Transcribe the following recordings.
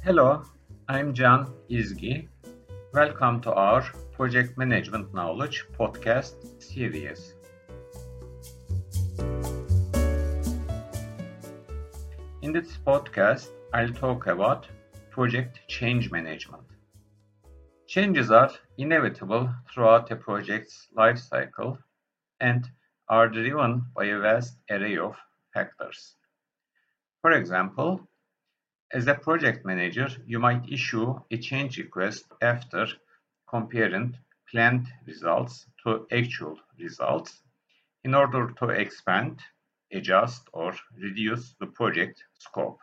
Hello, I'm Can İzgi. Welcome to our Project Management Knowledge podcast series. In this podcast, I'll talk about project change management. Changes are inevitable throughout a project's life cycle and are driven by a vast array of factors. For example, as a project manager, you might issue a change request after comparing planned results to actual results in order to expand, adjust, or reduce the project scope.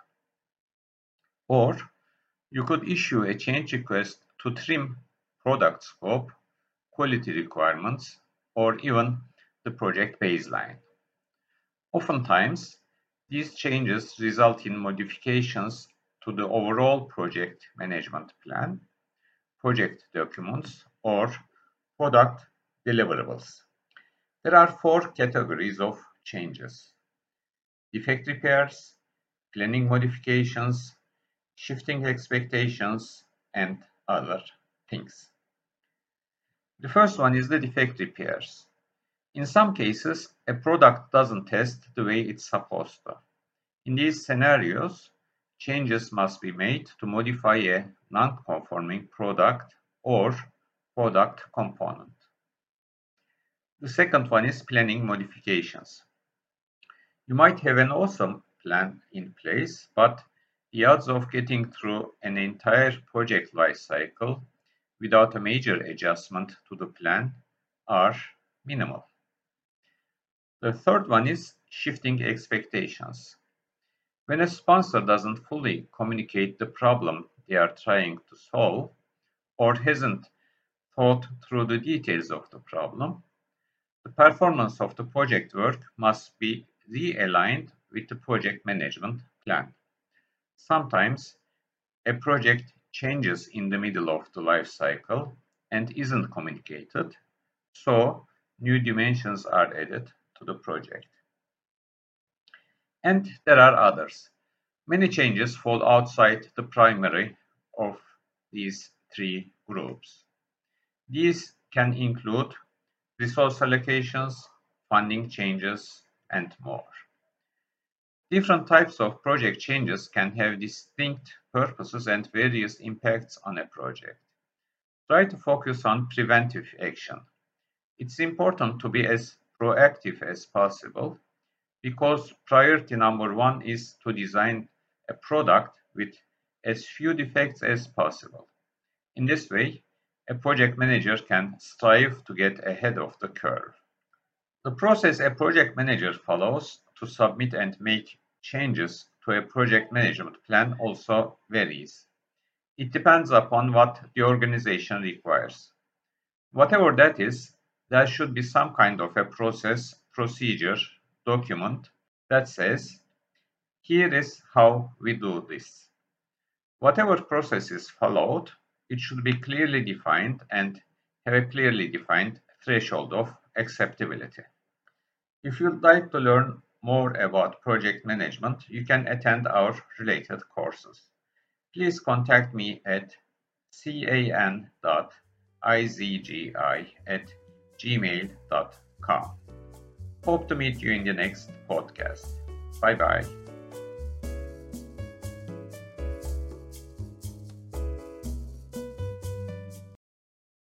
Or you could issue a change request to trim product scope, quality requirements, or even the project baseline. Oftentimes, these changes result in modifications to the overall project management plan, project documents, or product deliverables. There are four categories of changes: defect repairs, planning modifications, shifting expectations, and other things. The first one is the defect repairs. In some cases, a product doesn't test the way it's supposed to. In these scenarios, changes must be made to modify a non-conforming product or product component. The second one is planning modifications. You might have an awesome plan in place, but the odds of getting through an entire project life cycle without a major adjustment to the plan are minimal. The third one is shifting expectations. When a sponsor doesn't fully communicate the problem they are trying to solve or hasn't thought through the details of the problem, the performance of the project work must be realigned with the project management plan. Sometimes a project changes in the middle of the life cycle and isn't communicated, so new dimensions are added to the project. And there are others. Many changes fall outside the primary of these three groups. These can include resource allocations, funding changes, and more. Different types of project changes can have distinct purposes and various impacts on a project. Try to focus on preventive action. It's important to be as proactive as possible, because priority number one is to design a product with as few defects as possible. In this way, a project manager can strive to get ahead of the curve. The process a project manager follows to submit and make changes to a project management plan also varies. It depends upon what the organization requires. Whatever that is, there should be some kind of a process, procedure, document that says, here is how we do this. Whatever process is followed, it should be clearly defined and have a clearly defined threshold of acceptability. If you'd like to learn more about project management, you can attend our related courses. Please contact me at can.izgi@gmail.com. Hope to meet you in the next podcast. Bye bye.